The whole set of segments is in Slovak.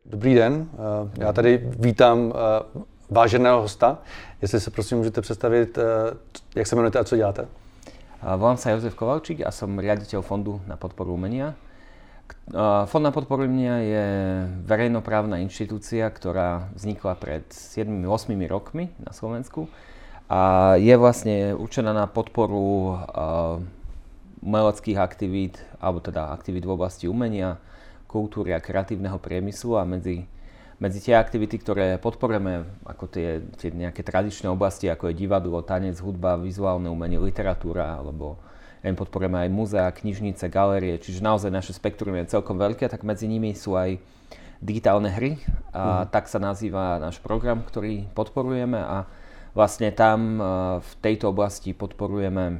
Dobrý den, já tady vítám váženého hosta. Jestli se prosím můžete představit, jak se jmenujete a co děláte? Volám sa Jozef Kovalčík a som riaditeľ Fondu na podporu umenia. Fond na podporu umenia je verejnoprávna inštitúcia, ktorá vznikla pred 7-8 rokmi na Slovensku a je vlastne určená na podporu umeleckých aktivít, alebo teda aktivít v oblasti umenia, kultúry a kreatívneho priemyslu a medzi tie aktivity, ktoré podporujeme, ako tie nejaké tradičné oblasti, ako je divadlo, tanec, hudba, vizuálne umenie, literatúra, alebo podporujeme aj múzea, knižnice, galérie, čiže naozaj naše spektrum je celkom veľké, tak medzi nimi sú aj digitálne hry a tak sa nazýva náš program, ktorý podporujeme a vlastne tam v tejto oblasti podporujeme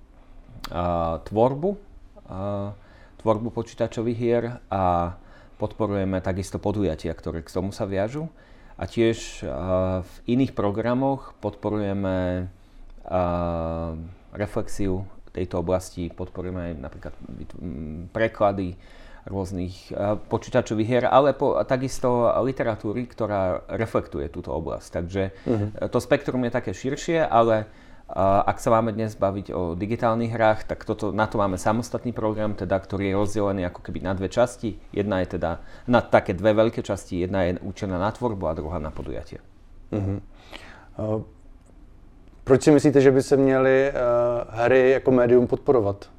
tvorbu počítačových hier a podporujeme takisto podujatia, ktoré k tomu sa viažu. A tiež v iných programoch podporujeme reflexiu tejto oblasti, podporujeme aj napríklad preklady rôznych počítačových hier, ale takisto literatúry, ktorá reflektuje túto oblasť. Takže to spektrum je také širšie, ale ak sa máme dnes baviť o digitálnych hrách, tak na to máme samostatný program, ktorý je rozdelený ako keby na dve časti. Jedna je teda na také dve veľké časti, jedna je určená na tvorbu a druhá na podujatie. Proč si myslíte, že by se měly hry jako médium podporovat?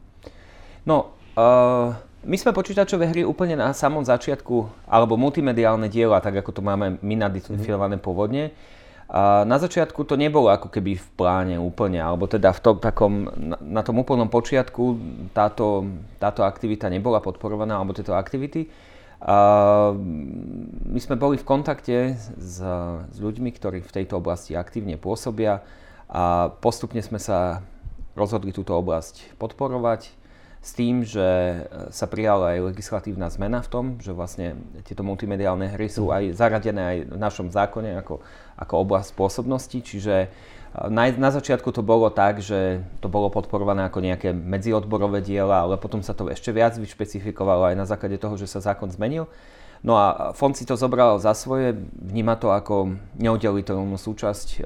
My sme počítačové hry úplne na samom začiatku, alebo multimediálne diela, tak ako to máme my nadefinované pôvodne. A na začiatku to nebolo ako keby v pláne úplne, alebo teda na tom úplnom počiatku táto aktivita nebola podporovaná, alebo tieto aktivity. My sme boli v kontakte s ľuďmi, ktorí v tejto oblasti aktívne pôsobia a postupne sme sa rozhodli túto oblasť podporovať s tým, že sa prijala aj legislatívna zmena v tom, že vlastne tieto multimediálne hry sú aj zaradené aj v našom zákone ako oblasť pôsobnosti, čiže na začiatku to bolo tak, že to bolo podporované ako nejaké medziodborové diela, ale potom sa to ešte viac vyšpecifikovalo aj na základe toho, že sa zákon zmenil. No a fond si to zobral za svoje, vníma to ako neoddeliteľnú súčasť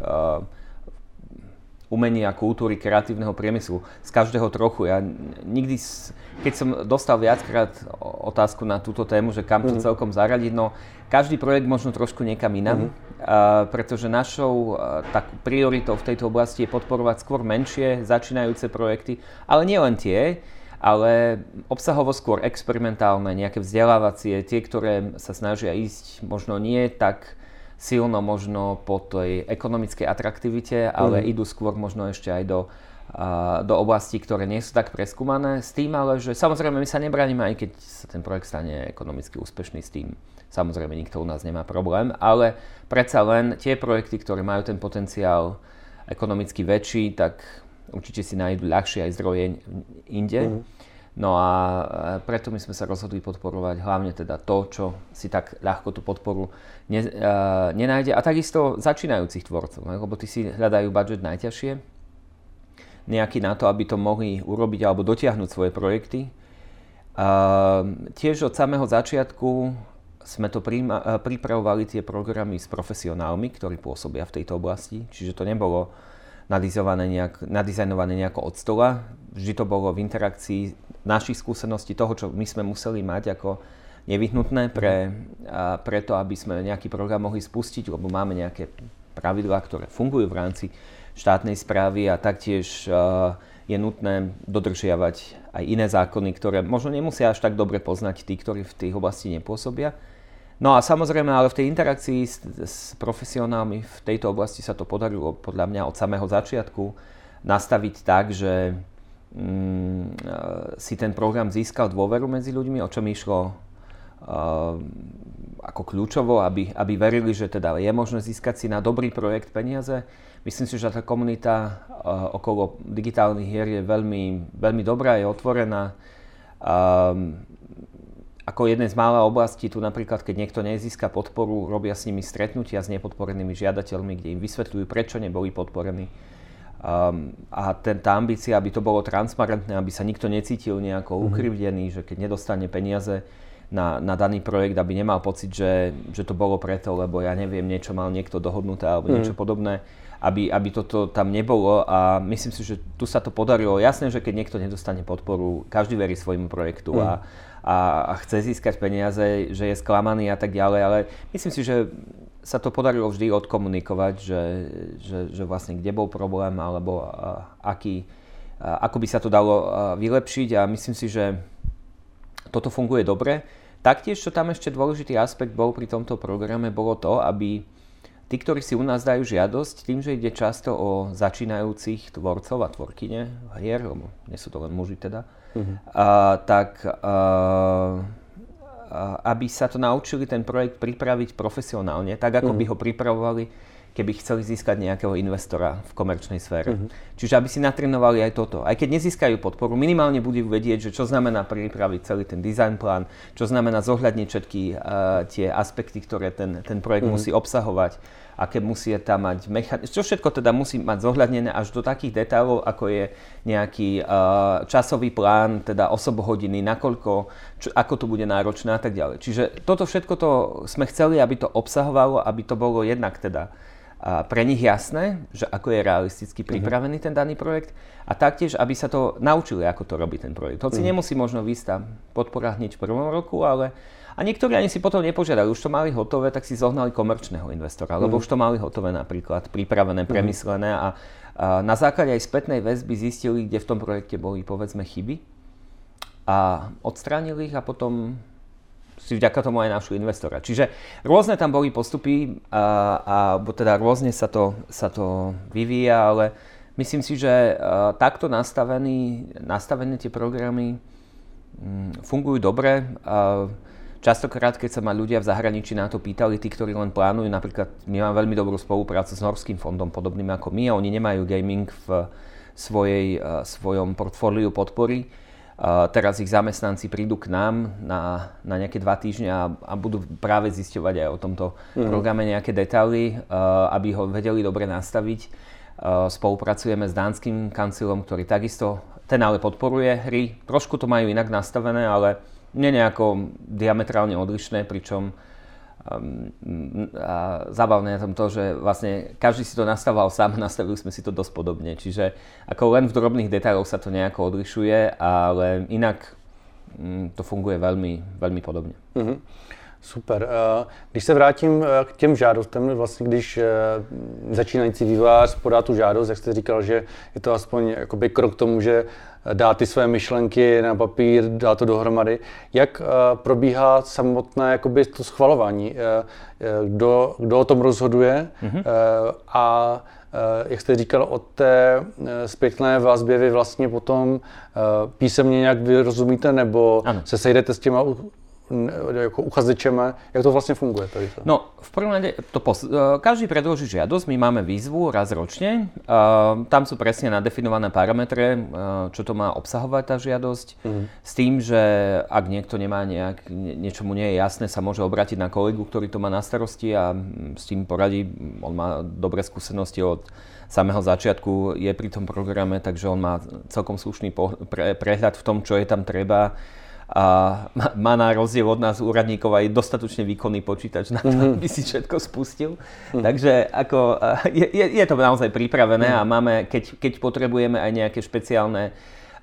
umenia, kultúry, kreatívneho priemyslu. Z každého trochu. Ja nikdy, keď som dostal viackrát otázku na túto tému, že kam to celkom zaradiť, no každý projekt možno trošku niekam inam, pretože našou takú prioritou v tejto oblasti je podporovať skôr menšie, začínajúce projekty, ale nie len tie, ale obsahovo skôr experimentálne, nejaké vzdelávacie, tie, ktoré sa snažia ísť možno nie tak silno možno po tej ekonomickej atraktivite, ale idú skôr možno ešte aj do oblastí, ktoré nie sú tak preskúmané. S tým ale, že samozrejme my sa nebránime, aj keď sa ten projekt stane ekonomicky úspešný, s tým samozrejme nikto u nás nemá problém, ale predsa len tie projekty, ktoré majú ten potenciál ekonomicky väčší, tak určite si nájdu ľahšie aj zdroje inde. No a preto my sme sa rozhodli podporovať hlavne teda to, čo si tak ľahko tú podporu nenájde. A takisto začínajúcich tvorcov, lebo tí si hľadajú budget najťažšie, nejaký na to, aby to mohli urobiť alebo dotiahnuť svoje projekty. Tiež od samého začiatku sme to pripravovali tie programy s profesionálmi, ktorí pôsobia v tejto oblasti, čiže to nebolo nadizajnové nejako od stola. Vždy to bolo v interakcii našich skúseností, toho, čo my sme museli mať ako nevyhnutné pre to, aby sme nejaký program mohli spustiť, lebo máme nejaké pravidlá, ktoré fungujú v rámci štátnej správy a taktiež je nutné dodržiavať aj iné zákony, ktoré možno nemusia až tak dobre poznať tí, ktorí v tých oblasti nepôsobia. No a samozrejme, ale v tej interakcii s profesionálmi v tejto oblasti sa to podarilo podľa mňa od samého začiatku nastaviť tak, že si ten program získal dôveru medzi ľuďmi, o čom išlo ako kľúčovo, aby verili, že teda je možné získať si na dobrý projekt peniaze. Myslím si, že tá komunita okolo digitálnych hier je veľmi, veľmi dobrá, je otvorená. Ako jednej z mála oblastí, tu napríklad, keď niekto nezíska podporu, robia s nimi stretnutia s nepodporenými žiadateľmi, kde im vysvetľujú, prečo neboli podporení. A tá ambícia, aby to bolo transparentné, aby sa nikto necítil nejako ukrivdený, že keď nedostane peniaze na daný projekt, aby nemal pocit, že to bolo preto, lebo ja neviem, niečo mal niekto dohodnuté alebo niečo podobné, aby toto tam nebolo a myslím si, že tu sa to podarilo. Jasné, že keď niekto nedostane podporu, každý verí svojmu projektu a chce získať peniaze, že je sklamaný a tak ďalej, ale myslím si, že sa to podarilo vždy odkomunikovať, že vlastne kde bol problém alebo ako by sa to dalo vylepšiť a myslím si, že toto funguje dobre. Taktiež, čo tam ešte dôležitý aspekt bol pri tomto programe, bolo to, aby tí, ktorí si u nás dajú žiadosť, tým, že ide často o začínajúcich tvorcov a tvorkyne hier, lebo nie sú to len muži teda, aby sa to naučili ten projekt pripraviť profesionálne, tak ako by ho pripravovali, keby chceli získať nejakého investora v komerčnej sfére. Čiže aby si natrénovali aj toto. Aj keď nezískajú podporu, minimálne budú vedieť, že čo znamená pripraviť celý ten design plán, čo znamená zohľadniť všetky tie aspekty, ktoré ten projekt musí obsahovať, aké musí tam mať čo všetko teda musí mať zohľadnené až do takých detailov, ako je nejaký časový plán, teda osobohodiny, nakoľko, ako to bude náročné a tak ďalej. Čiže toto všetko to sme chceli, aby to obsahovalo, aby to bolo jednak teda pre nich jasné, že ako je realisticky pripravený ten daný projekt a taktiež, aby sa to naučili, ako to robí ten projekt. Hoci nemusí možno výsť tá podpora hneď v prvom roku, ale a niektorí ani si potom nepožiadali, už to mali hotové, tak si zohnali komerčného investora, lebo už to mali hotové napríklad, pripravené, premyslené a na základe aj spätnej väzby zistili, kde v tom projekte boli povedzme chyby a odstránili ich a potom si vďaka tomu aj našli investora. Čiže rôzne tam boli postupy bo teda rôzne sa to vyvíja, ale myslím si, že takto nastavené tie programy fungujú dobre. Častokrát, keď sa ma ľudia v zahraničí na to pýtali, tí, ktorí len plánujú, napríklad my máme veľmi dobrú spoluprácu s norským fondom, podobným ako my, a oni nemajú gaming v svojom portfóliu podpory. Teraz ich zamestnanci prídu k nám na nejaké 2 týždne a budú práve zisťovať aj o tomto programe nejaké detaily, aby ho vedeli dobre nastaviť. Spolupracujeme s dánskym kancilom, ktorý takisto, ten ale podporuje hry. Trošku to majú inak nastavené, ale nie nejako diametrálne odlišné, pričom zábavné na tom to, že vlastne každý si to nastavoval sám, nastavili sme si to dosť podobne. Čiže ako len v drobných detailoch sa to nejako odlišuje, ale inak to funguje veľmi, veľmi podobne. Super. Když se vrátím k těm žádostem, vlastně když začínající vývojář podá tu žádost, jak jste říkal, že je to aspoň jakoby krok k tomu, že dá ty své myšlenky na papír, dá to dohromady. Jak probíhá samotné jakoby to schvalování? Kdo o tom rozhoduje? A jak jste říkal, od té zpětné vazbě vy vlastně potom písemně nějak vyrozumíte, nebo se sejdete s těma jako uchazečeme, jak to vlastne funguje? No, v prvom rade, každý predloží žiadosť, my máme výzvu raz ročne, tam sú presne nadefinované parametre, čo to má obsahovať tá žiadosť, s tým, že ak niekto nemá niečo mu nie je jasné, sa môže obrátiť na kolegu, ktorý to má na starosti a s tým poradí, on má dobré skúsenosti od samého začiatku, je pri tom programe, takže on má celkom slušný prehľad v tom, čo je tam treba. A má na rozdiel od nás úradníkov aj dostatočne výkonný počítač na to, aby si všetko spustil. Takže ako, je to naozaj pripravené a máme, keď potrebujeme aj nejaké špeciálne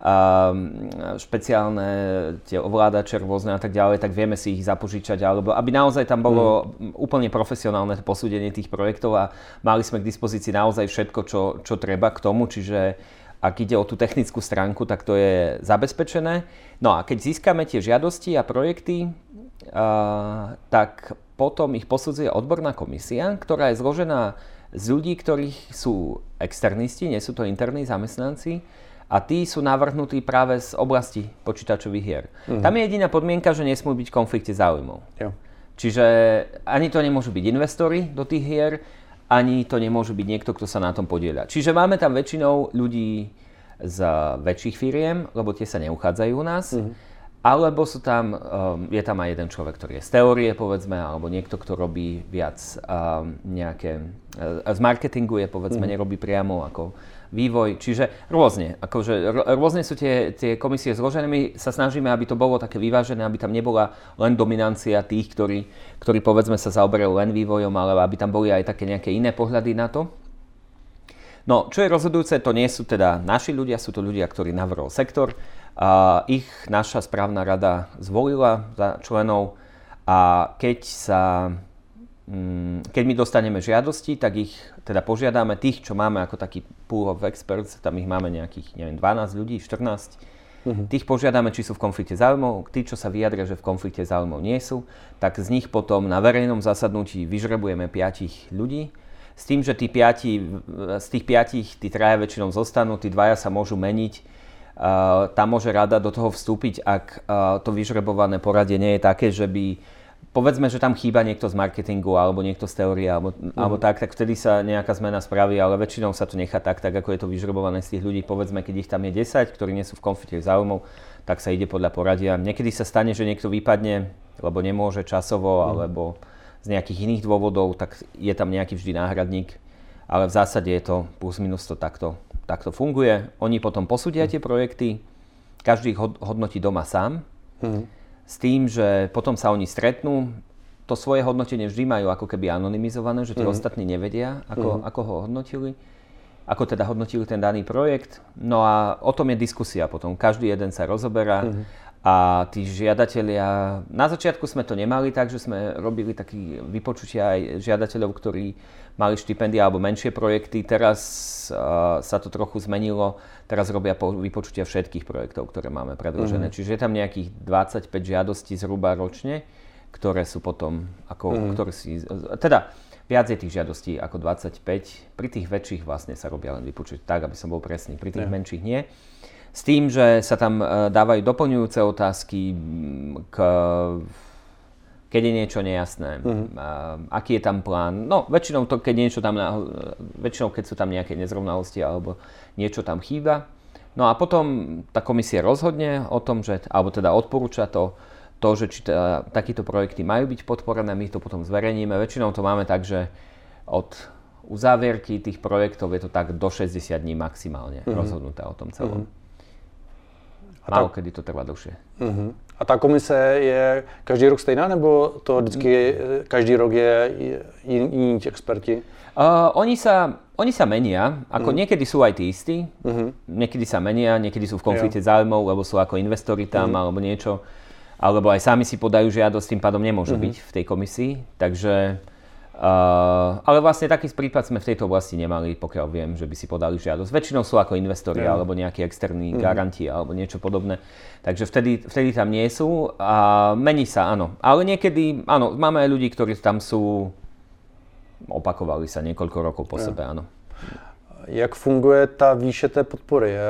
tie ovládače rôzne a tak ďalej, tak vieme si ich zapožičať, alebo aby naozaj tam bolo úplne profesionálne posúdenie tých projektov a mali sme k dispozícii naozaj všetko, čo treba k tomu, čiže ak ide o tú technickú stránku, tak to je zabezpečené. No a keď získame tie žiadosti a projekty, tak potom ich posudzuje odborná komisia, ktorá je zložená z ľudí, ktorí sú externisti, nie sú to interní zamestnanci, a tí sú navrhnutí práve z oblasti počítačových hier. Tam je jediná podmienka, že nesmú byť v konflikte záujmov. Jo. Čiže ani to nemôžu byť investori do tých hier, ani to nemôže byť niekto, kto sa na tom podieľa. Čiže máme tam väčšinou ľudí z väčších firiem, lebo tie sa neuchádzajú u nás. Alebo je tam aj jeden človek, ktorý je z teórie, povedzme, alebo niekto, kto robí viac nejaké, z marketingu je, povedzme, nerobí priamo ako vývoj. Čiže rôzne sú tie komisie zložené. My sa snažíme, aby to bolo také vyvážené, aby tam nebola len dominancia tých, ktorí povedzme sa zaoberajú len vývojom, ale aby tam boli aj také nejaké iné pohľady na to. No, čo je rozhodujúce, to nie sú teda naši ľudia, sú to ľudia, ktorí navrhol sektor. Ich naša správna rada zvolila za členov a keď my dostaneme žiadosti, tak ich teda požiadame tých, čo máme ako taký pool of experts, tam ich máme nejakých, 12 ľudí, 14. Tých požiadame, či sú v konflikte záujmov, tí, čo sa vyjadria, že v konflikte záujmov nie sú, tak z nich potom na verejnom zasadnutí vyžrebujeme 5 ľudí. S tým, že z tých 5 tí 3 väčšinou zostanú, tí 2 sa môžu meniť. Tam môže rada do toho vstúpiť, ak to vyžrebované poradie nie je také, že by, povedzme, že tam chýba niekto z marketingu alebo niekto z teórie alebo tak vtedy sa nejaká zmena spraví, ale väčšinou sa to nechá tak ako je to vyžrebované z tých ľudí. Povedzme, keď ich tam je 10, ktorí nie sú v konflikte záujmov, tak sa ide podľa poradia. Niekedy sa stane, že niekto vypadne, lebo nemôže časovo alebo z nejakých iných dôvodov, tak je tam nejaký vždy náhradník, ale v zásade je to plus minus to takto funguje. Oni potom posúdia tie projekty, každý ich hodnotí doma sám, s tým, že potom sa oni stretnú. To svoje hodnotenie vždy majú ako keby anonymizované, že tí ostatní nevedia, ako ho hodnotili, ako teda hodnotili ten daný projekt. No a o tom je diskusia potom. Každý jeden sa rozoberá a tí žiadatelia, na začiatku sme to nemali tak, že sme robili taký vypočutia aj žiadateľov, ktorí mali štipendia alebo menšie projekty. Teraz sa to trochu zmenilo. Teraz robia vypočutia všetkých projektov, ktoré máme predložené. Čiže je tam nejakých 25 žiadostí zhruba ročne, ktoré sú potom, teda viac je tých žiadostí ako 25. Pri tých väčších vlastne sa robia len vypočutia, tak aby som bol presný. Pri tých menších nie. S tým, že sa tam dávajú doplňujúce otázky, keď je niečo nejasné, aký je tam plán. No, väčšinou keď sú tam nejaké nezrovnalosti alebo niečo tam chýba. No a potom tá komisia rozhodne o tom, alebo teda odporúča to, že či takíto projekty majú byť podporené, my to potom zverejníme. Väčšinou to máme tak, že od uzávierky tých projektov je to tak do 60 dní maximálne rozhodnuté o tom celom. Málo kedy to trvá dlhšie. A ta komise je každý rok stejná, nebo to vždycky každý rok je jiní experti? Oni sa menia, ako niekedy sú aj tí istí, niekedy sa menia, niekedy sú v konflikte záujmov, lebo sú ako investori tam alebo niečo, alebo aj sami si podajú žiadosť, tým pádom nemôžu byť v tej komisii, takže ale vlastne taký prípad sme v tejto oblasti nemali, pokiaľ viem, že by si podali žiadosť. Väčšinou sú ako investori alebo nejakí externí garanti alebo niečo podobné. Takže vtedy tam nie sú a mení sa, áno. Ale niekedy, áno, máme aj ľudí, ktorí tam sú, opakovali sa niekoľko rokov po sebe, áno. Jak funguje ta výše té podpory?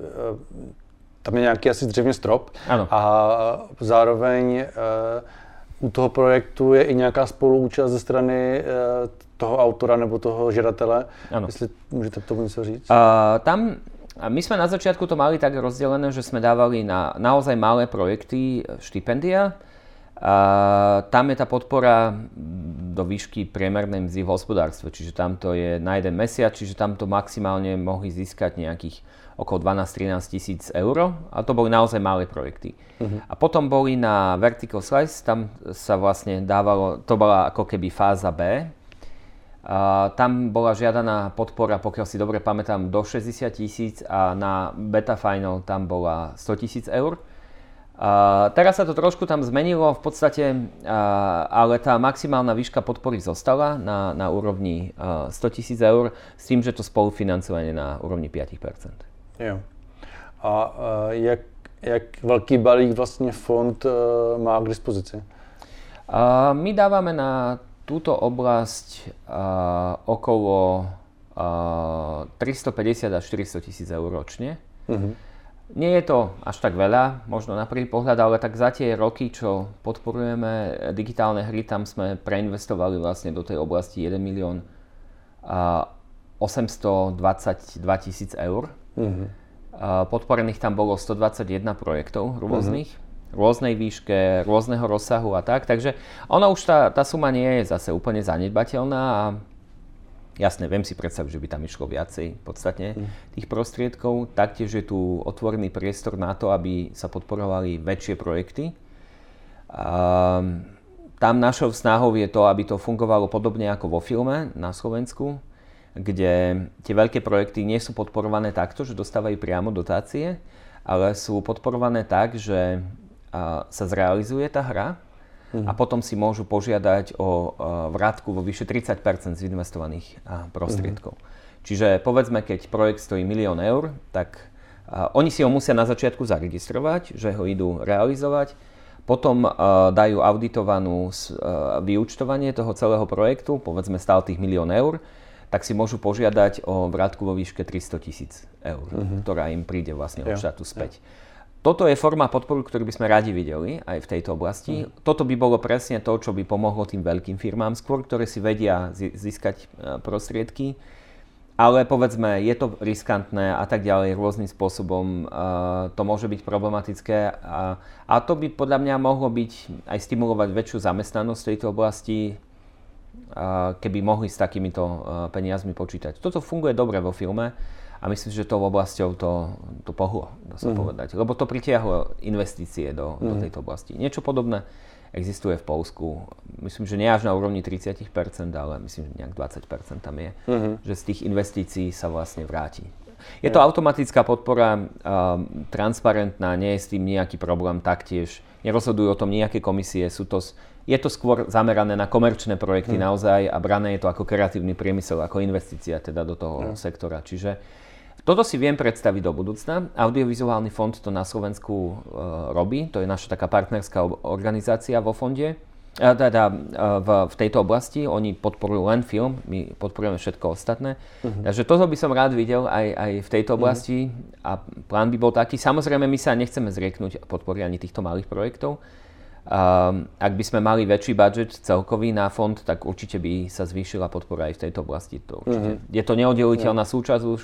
Tam je nějaký asi zřejmě strop. Ano. A zároveň u toho projektu je i nějaká spoluúčast ze strany toho autora nebo toho žadatele. Ano. Jestli můžete k tomu něco říct? My sme na začiatku to mali tak rozdelené, že sme dávali na naozaj malé projekty štipendia. Tam je tá podpora do výšky priemernej mzdy v hospodárstve, čiže tam to je na jeden mesiac, čiže tam to maximálne mohli získať nejakých okolo 12-13 tisíc eur, a to boli naozaj malé projekty. A potom boli na Vertical Slice, tam sa vlastne dávalo, to bola ako keby fáza B. Tam bola žiadaná podpora, pokiaľ si dobre pamätám, do 60 tisíc a na Beta Final tam bola 100 tisíc eur. Teraz sa to trošku tam zmenilo v podstate, ale tá maximálna výška podpory zostala na úrovni 100 tisíc eur s tým, že to spolufinancovanie na úrovni 5%. Jo. A jak velký balík vlastně fond má k dispozici? My dávame na túto oblasť okolo 350 až 400 tisíc eur ročne. Nie je to až tak veľa, možno na prvý pohľad, ale tak za tie roky, čo podporujeme digitálne hry, tam sme preinvestovali vlastne do tej oblasti 1 milión 822 tisíc eur. Podporených tam bolo 121 projektov rôznych. rôznej výške, rôzneho rozsahu a tak. Takže ona už tá suma nie je zase úplne zanedbateľná a jasné, viem si predstaviť, že by tam išlo viacej podstatne tých prostriedkov. Taktiež je tu otvorený priestor na to, aby sa podporovali väčšie projekty. Tam našou snahou je to, aby to fungovalo podobne ako vo filme na Slovensku, kde tie veľké projekty nie sú podporované takto, že dostávajú priamo dotácie, ale sú podporované tak, že sa zrealizuje tá hra a potom si môžu požiadať o vrátku vo vyše 30% z investovaných prostriedkov. Čiže povedzme, keď projekt stojí 1 000 000 eur, tak oni si ho musia na začiatku zaregistrovať, že ho idú realizovať, potom dajú auditovanú vyúčtovanie toho celého projektu, povedzme stál tých 1 000 000 eur, tak si môžu požiadať o vrátku vo výške 300 000 eur, ktorá im príde vlastne od štátu späť. Toto je forma podporu, ktorú by sme radi videli aj v tejto oblasti. Toto by bolo presne to, čo by pomohlo tým veľkým firmám skôr, ktoré si vedia získať prostriedky. Ale povedzme, je to riskantné a tak ďalej, rôznym spôsobom to môže byť problematické. A to by podľa mňa mohlo byť aj stimulovať väčšiu zamestnanosť v tejto oblasti, keby mohli s takýmito peniazmi počítať. Toto funguje dobre vo filme. A myslím, že tou oblasťou to pohlo, dá sa povedať. Lebo to pritiahlo investície do tejto oblasti. Niečo podobné existuje v Poľsku. Myslím, že nie až na úrovni 30%, ale myslím, že nejak 20% tam je. Že z tých investícií sa vlastne vráti. Je to automatická podpora, transparentná, nie je s tým nejaký problém taktiež. Nerozhodujú o tom nejaké komisie. Je to skôr zamerané na komerčné projekty naozaj a brané je to ako kreatívny priemysel, ako investícia teda do toho sektora. Čiže toto si viem predstaviť do budúcna. Audiovizuálny fond to na Slovensku robí. To je naša taká partnerská organizácia vo fonde. V tejto oblasti. Oni podporujú len film, my podporujeme všetko ostatné. Takže toto by som rád videl aj v tejto oblasti. A plán by bol taký. Samozrejme, my sa nechceme zrieknúť podpory ani týchto malých projektov. Ak by sme mali väčší budget celkový na fond, tak určite by sa zvýšila podpora aj v tejto oblasti. Je to neoddeliteľná súčasť už.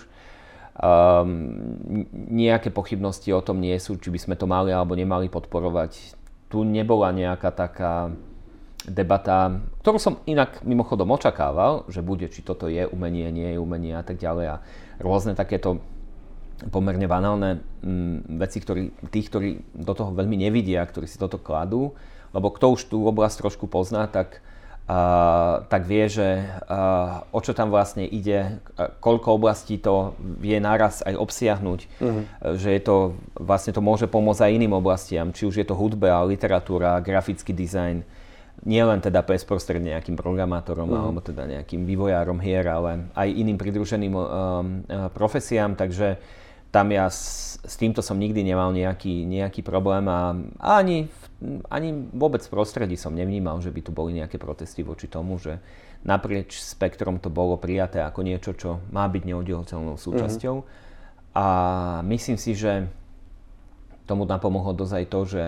Nejaké pochybnosti o tom nie sú, či by sme to mali alebo nemali podporovať. Tu nebola nejaká taká debata, ktorú som inak mimochodom očakával, že bude, či toto je umenie, nie je umenie a tak ďalej. A rôzne takéto pomerne banálne veci, tých, ktorí do toho veľmi nevidia, ktorí si toto kladú, lebo kto už tú oblasť trošku pozná, tak vie, že o čo tam vlastne ide, koľko oblastí to vie naraz aj obsiahnuť, že je to, vlastne to môže pomôcť aj iným oblastiam, či už je to hudba, literatúra, grafický dizajn, nie len teda bezprostredne nejakým programátorom alebo teda nejakým vývojárom hier, ale aj iným pridruženým profesiám, takže tam ja s týmto som nikdy nemal nejaký problém a ani vôbec v prostredí som nevnímal, že by tu boli nejaké protesty voči tomu, že naprieč spektrom to bolo prijaté ako niečo, čo má byť neoddeliteľnou súčasťou. A myslím si, že tomu napomohlo dosť aj to, že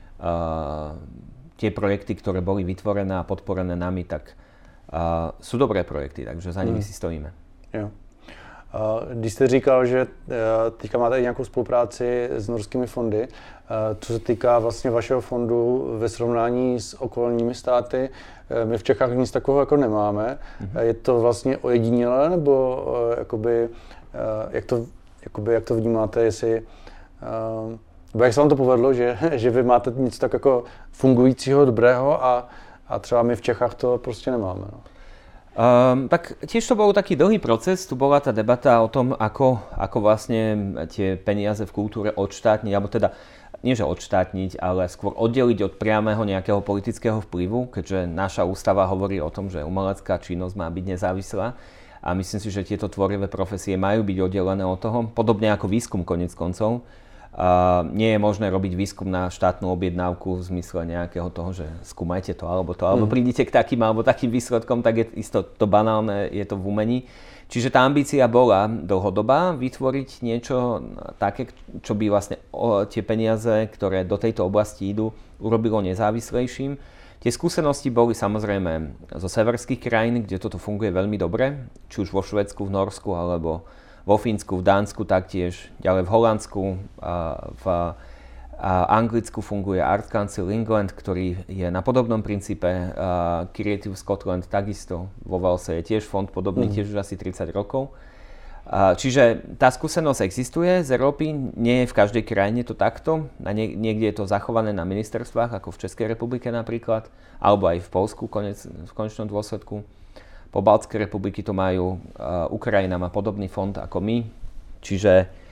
tie projekty, ktoré boli vytvorené a podporené nami, tak sú dobré projekty, takže za nimi si stojíme. Jo. Když jste říkal, že teďka máte i nějakou spolupráci s norskými fondy, co se týká vlastně vašeho fondu ve srovnání s okolními státy, my v Čechách nic takového jako nemáme. Je to vlastně ojedinělé, nebo jakoby, jak to vnímáte, jestli jak se vám to povedlo, že vy máte něco tak jako fungujícího, dobrého a třeba my v Čechách to prostě nemáme. No. Tak tiež to bol taký dlhý proces, tu bola tá debata o tom, ako vlastne tie peniaze v kultúre odštátniť, alebo teda nie že odštátniť, ale skôr oddeliť od priamého nejakého politického vplyvu, keďže naša ústava hovorí o tom, že umelecká činnosť má byť nezávislá a myslím si, že tieto tvorivé profesie majú byť oddelené od toho, podobne ako výskum koniec koncov. Nie je možné robiť výskum na štátnu objednávku v zmysle nejakého toho, že skúmajte to alebo prídite k takým alebo takým výsledkom, tak je isto to banálne, je to v umení. Čiže tá ambícia bola dlhodobá vytvoriť niečo také, čo by vlastne tie peniaze, ktoré do tejto oblasti idú, urobilo nezávislejším. Tie skúsenosti boli samozrejme zo severských krajín, kde toto funguje veľmi dobre, či už vo Švédsku, v Norsku alebo vo Fínsku, v Dánsku taktiež, ďalej v Holandsku, Anglicku funguje Art Council England, ktorý je na podobnom princípe. Creative Scotland takisto. Vo Walese je tiež fond podobný, tiež už asi 30 rokov. Čiže tá skúsenosť existuje z Európy, nie je v každej krajine to takto. Niekde je to zachované na ministerstvách, ako v Českej republike napríklad, alebo aj v Poľsku v konečnom dôsledku. Pobaltské republiky to majú, Ukrajina má podobný fond ako my. Čiže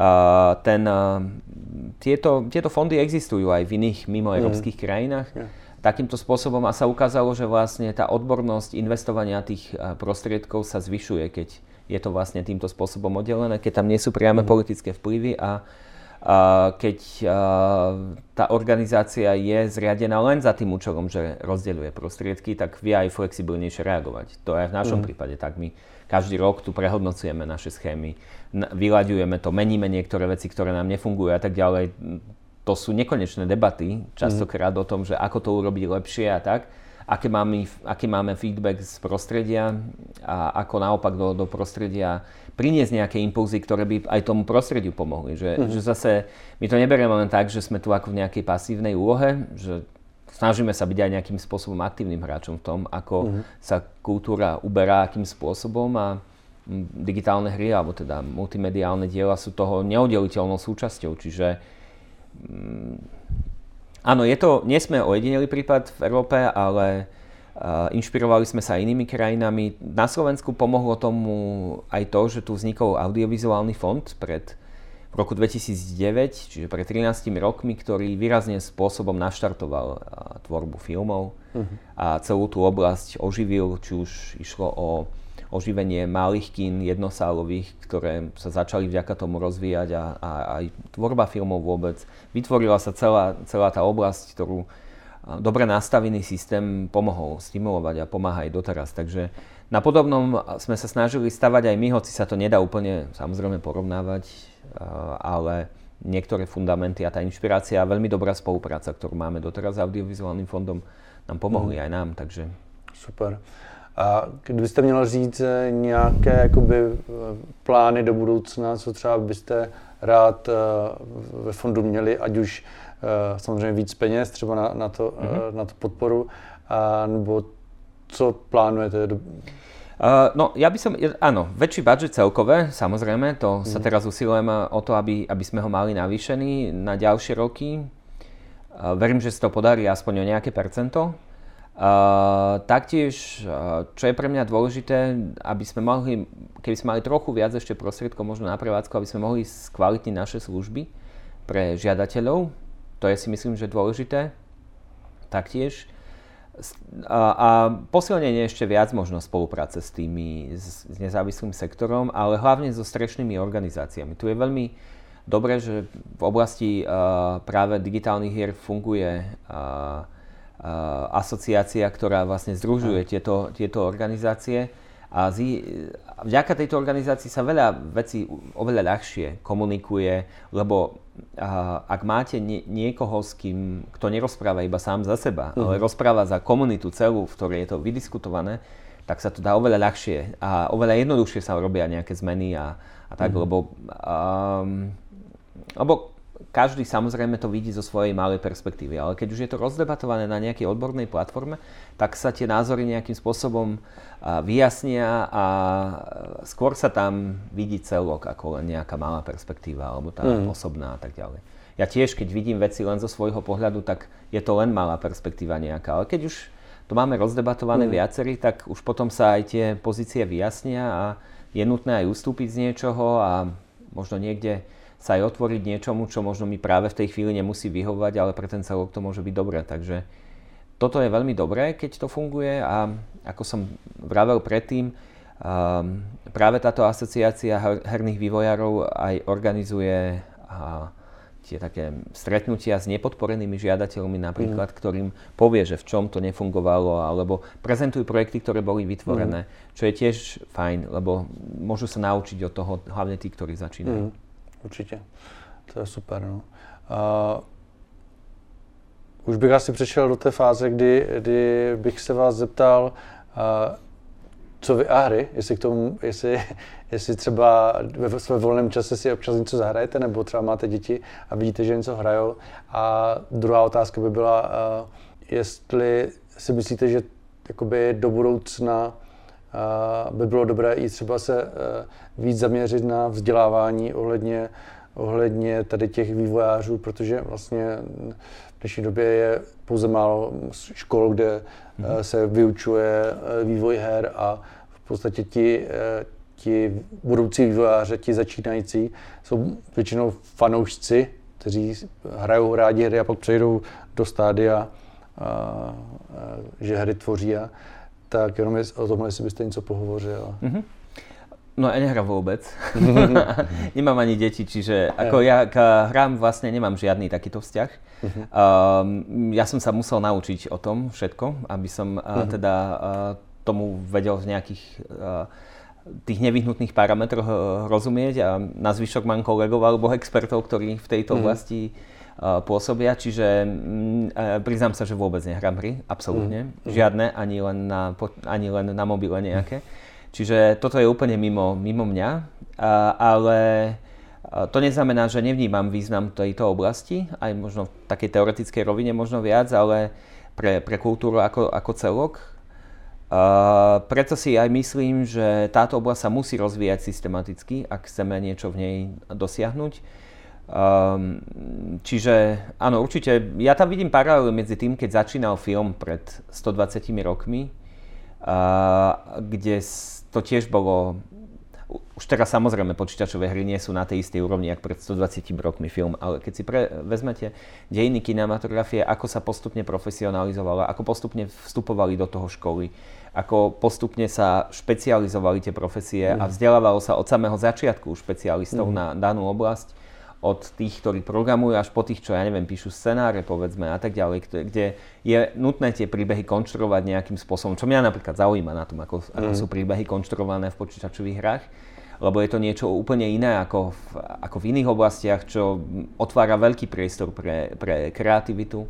tieto fondy existujú aj v iných mimoeurópskych krajinách. Takýmto spôsobom a sa ukázalo, že vlastne tá odbornosť investovania tých prostriedkov sa zvyšuje, keď je to vlastne týmto spôsobom oddelené, keď tam nie sú priame politické vplyvy a keď tá organizácia je zriadená len za tým účelom, že rozdeľuje prostriedky, tak vie aj flexibilnejšie reagovať. To je v našom prípade tak. My každý rok tu prehodnocujeme naše schémy, vyľaďujeme to, meníme niektoré veci, ktoré nám nefungujú a tak ďalej. To sú nekonečné debaty, častokrát o tom, že ako to urobiť lepšie a tak. Aký máme feedback z prostredia a ako naopak do prostredia priniesť nejaké impulzy, ktoré by aj tomu prostrediu pomohli. Že zase my to neberieme len tak, že sme tu ako v nejakej pasívnej úlohe, že snažíme sa byť aj nejakým spôsobom aktívnym hráčom v tom, ako sa kultúra uberá, akým spôsobom a digitálne hry, alebo teda multimediálne diela sú toho neoddeliteľnou súčasťou. Čiže áno, nie sme ojedinelý prípad v Európe, ale inšpirovali sme sa inými krajinami. Na Slovensku pomohlo tomu aj to, že tu vznikol audiovizuálny fond v roku 2009, čiže pred 13 rokmi, ktorý výrazným spôsobom naštartoval tvorbu filmov a celú tú oblasť oživil, či už išlo o oživenie malých kín jednosálových, ktoré sa začali vďaka tomu rozvíjať a aj tvorba filmov vôbec. Vytvorila sa celá tá oblasť, ktorú dobre nastavený systém pomohol stimulovať a pomáha aj doteraz. Takže na podobnom sme sa snažili stavať aj my, hoci sa to nedá úplne samozrejme porovnávať, ale niektoré fundamenty a tá inšpirácia a veľmi dobrá spolupráca, ktorú máme doteraz s audiovizuálnym fondom, nám pomohli aj nám. Takže... Super. A kdybyste měl říct nějaké jakoby plány do budoucna, co třeba byste rád ve fondu měli, ať už samozřejmě víc peněz třeba na to podporu, nebo co plánujete? No, ja by som, áno, väčší budget celkové, samozrejme, to sa teraz usilujeme o to, aby sme ho mali navýšený na ďalšie roky. Verím, že sa to podarí aspoň o nejaké percento. Taktiež, čo je pre mňa dôležité, keby sme mali trochu viac ešte prostriedkov možno na prevádzku, aby sme mohli skvalitniť naše služby pre žiadateľov. To je si myslím, že dôležité. Taktiež. A posilnenie ešte viac možno spolupráce s nezávislým sektorom, ale hlavne so strešnými organizáciami. Tu je veľmi dobré, že v oblasti práve digitálnych hier funguje asociácia, ktorá vlastne združuje tieto organizácie a vďaka tejto organizácii sa veľa vecí oveľa ľahšie komunikuje, lebo ak máte niekoho, kto nerozpráva iba sám za seba, ale rozpráva za komunitu celú, v ktorej je to vydiskutované, tak sa to dá oveľa ľahšie a oveľa jednoduchšie sa robia nejaké zmeny a tak, lebo každý samozrejme to vidí zo svojej malej perspektívy, ale keď už je to rozdebatované na nejakej odbornej platforme, tak sa tie názory nejakým spôsobom vyjasnia a skôr sa tam vidí celok ako len nejaká malá perspektíva alebo tá osobná a tak ďalej. Ja tiež, keď vidím veci len zo svojho pohľadu, tak je to len malá perspektíva nejaká, ale keď už to máme rozdebatované viacerí, tak už potom sa aj tie pozície vyjasnia a je nutné aj ustúpiť z niečoho a možno niekde sa aj otvoriť niečomu, čo možno mi práve v tej chvíli nemusí vyhovovať, ale pre ten celok to môže byť dobré. Takže toto je veľmi dobré, keď to funguje a ako som vravel predtým, práve táto asociácia herných vývojárov aj organizuje tie také stretnutia s nepodporenými žiadateľmi napríklad, ktorým povie, že v čom to nefungovalo, alebo prezentujú projekty, ktoré boli vytvorené, čo je tiež fajn, lebo môžu sa naučiť od toho hlavne tí, ktorí začínajú. Určitě, to je super. No. Už bych asi přešel do té fáze, kdy bych se vás zeptal, co vy a hry, jestli třeba ve svém volném čase si občas něco zahrajete, nebo třeba máte děti a vidíte, že něco hrajou. A druhá otázka by byla, jestli si myslíte, že jakoby do budoucna by bylo dobré i třeba se víc zaměřit na vzdělávání ohledně tady těch vývojářů, protože vlastně v dnešní době je pouze málo škol, kde se vyučuje vývoj her a v podstatě ti budoucí vývojáři, ti začínající, jsou většinou fanoušci, kteří hrajou rádi hry a pak přejdou do stádia, že hry tvoří. Tak jenom o tomhle, jestli byste něco pohovořil. No ja nehrám vôbec. Nemám ani deti, čiže ako ja k hrám vlastne nemám žiadny takýto vzťah. Ja som sa musel naučiť o tom všetko, aby som tomu vedel v nejakých tých nevyhnutných parametroch rozumieť a na zvyšok mám kolegov alebo expertov, ktorí v tejto oblasti pôsobia, čiže priznám sa, že vôbec nehrám hry, absolútne. Žiadne, ani len na mobile nejaké. Čiže toto je úplne mimo mňa, ale to neznamená, že nevnímam význam tejto oblasti, aj možno v takej teoretickej rovine možno viac, ale pre kultúru ako celok. Preto si aj myslím, že táto oblasť sa musí rozvíjať systematicky, ak chceme niečo v nej dosiahnuť. Čiže áno, určite, ja tam vidím paralelu medzi tým, keď začínal film pred 120 rokmi, kde to tiež bolo, už teraz samozrejme počítačové hry nie sú na tej istej úrovni, ako pred 120 rokmi film, ale keď si vezmete dejiny kinematografie, ako sa postupne profesionalizovala, ako postupne vstupovali do toho školy, ako postupne sa špecializovali tie profesie a vzdelávalo sa od samého začiatku špecialistov na danú oblasť, od tých, ktorí programujú, až po tých, čo ja neviem, píšu scenáre, povedzme, a tak ďalej, kde je nutné tie príbehy konštruovať nejakým spôsobom, čo mňa napríklad zaujíma na tom, ako sú príbehy konštruované v počítačových hrách, lebo je to niečo úplne iné ako v iných oblastiach, čo otvára veľký priestor pre kreativitu.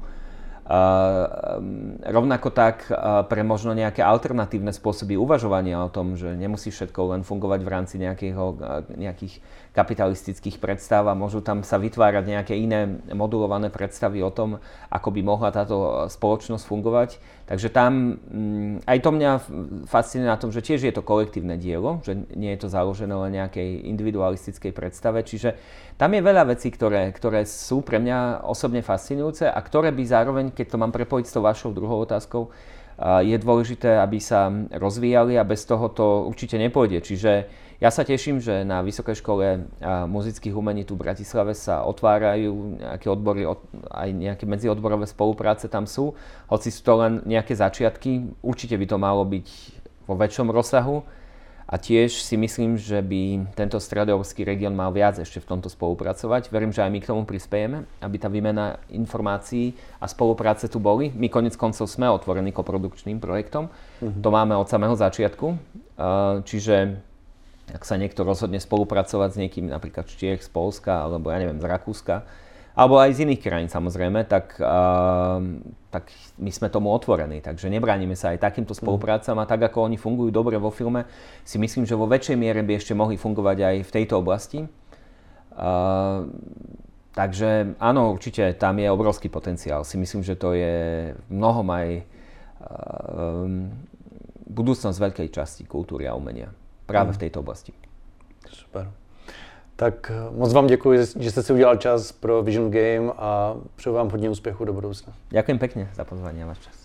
Rovnako tak pre možno nejaké alternatívne spôsoby uvažovania o tom, že nemusí všetko len fungovať v rámci nejakých kapitalistických predstav a môžu tam sa vytvárať nejaké iné modulované predstavy o tom, ako by mohla táto spoločnosť fungovať. Takže tam aj to mňa fascinuje na tom, že tiež je to kolektívne dielo, že nie je to založené len nejakej individualistickej predstave. Čiže tam je veľa vecí, ktoré sú pre mňa osobne fascinujúce a ktoré by zároveň, keď to mám prepojiť s tou vašou druhou otázkou, je dôležité, aby sa rozvíjali a bez toho to určite nepôjde. Čiže ja sa teším, že na Vysokej škole muzických umení tu v Bratislave sa otvárajú nejaké odbory, aj nejaké medziodborové spolupráce tam sú. Hoci sú to len nejaké začiatky, určite by to malo byť vo väčšom rozsahu. A tiež si myslím, že by tento stredoeurópsky región mal viac ešte v tomto spolupracovať. Verím, že aj my k tomu prispiejeme, aby tá výmena informácií a spolupráce tu boli. My konec koncov sme otvorení koprodukčným projektom. To máme od samého začiatku. Čiže ak sa niekto rozhodne spolupracovať s niekým, napríklad z Čiech, z Poľska, alebo ja neviem, z Rakúska, alebo aj z iných krajín samozrejme, tak my sme tomu otvorení. Takže nebránime sa aj takýmto spoluprácam a tak, ako oni fungujú dobre vo filme, si myslím, že vo väčšej miere by ešte mohli fungovať aj v tejto oblasti. Takže áno, určite tam je obrovský potenciál. Si myslím, že to je mnohom aj budúcnosť veľkej časti kultúry a umenia. Práve v tejto oblasti. Super. Tak moc vám děkuji, že jste si udělal čas pro Vision Game a přeju vám hodně úspěchu do budoucna. Ďakujem pekne za pozvanie a váš čas.